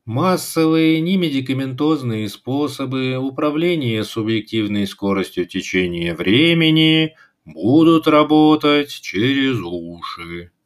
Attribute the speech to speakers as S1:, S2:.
S1: Массовые немедикаментозные способы управления субъективной скоростью течения времени будут работать через уши.